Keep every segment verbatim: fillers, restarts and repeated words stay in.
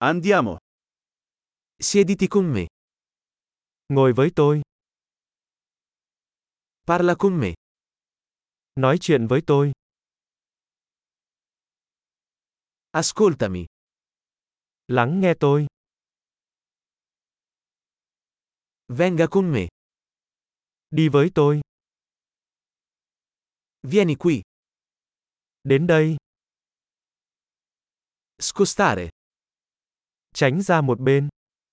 Andiamo. Siediti con me. Ngồi với tôi. Parla con me. Nói chuyện với tôi. Ascoltami. Lắng nghe tôi. Venga con me. Đi với tôi. Vieni qui. Đến đây. Scostare. Tránh ra một bên.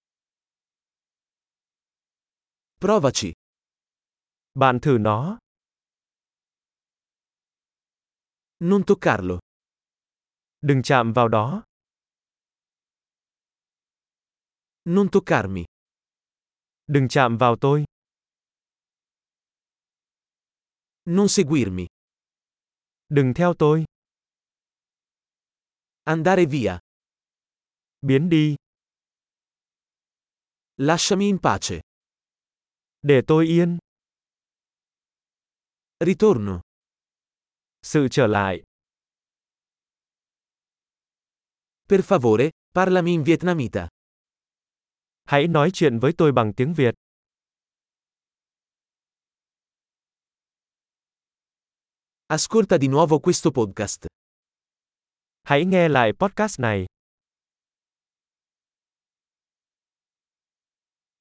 Provaci. Bạn thử nó. Non toccarlo. Đừng chạm vào đó. Non toccarmi. Đừng chạm vào tôi. Non seguirmi. Đừng theo tôi. Andare via. Biến đi. Lasciami in pace. Để tôi yên. Ritorno. Sự trở lại. Per favore, parlami in vietnamita. Hãy nói chuyện với tôi bằng tiếng Việt. Ascolta di nuovo questo podcast. Hãy nghe lại podcast này.